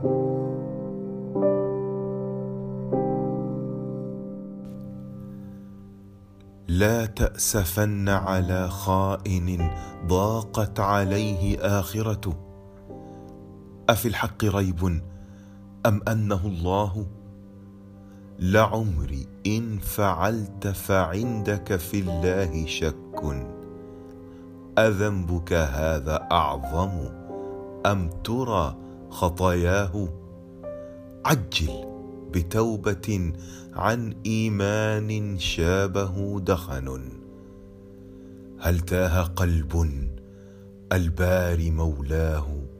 لا تأسفن على خائن ضاقت عليه آخرته، أفي الحق ريب أم أنه الله؟ لعمري إن فعلت فعندك في الله شك، أذنبك هذا أعظم أم ترى خطاياه؟ عجل بتوبة عن إيمان شابه دخن، هل تاه قلب البار مولاه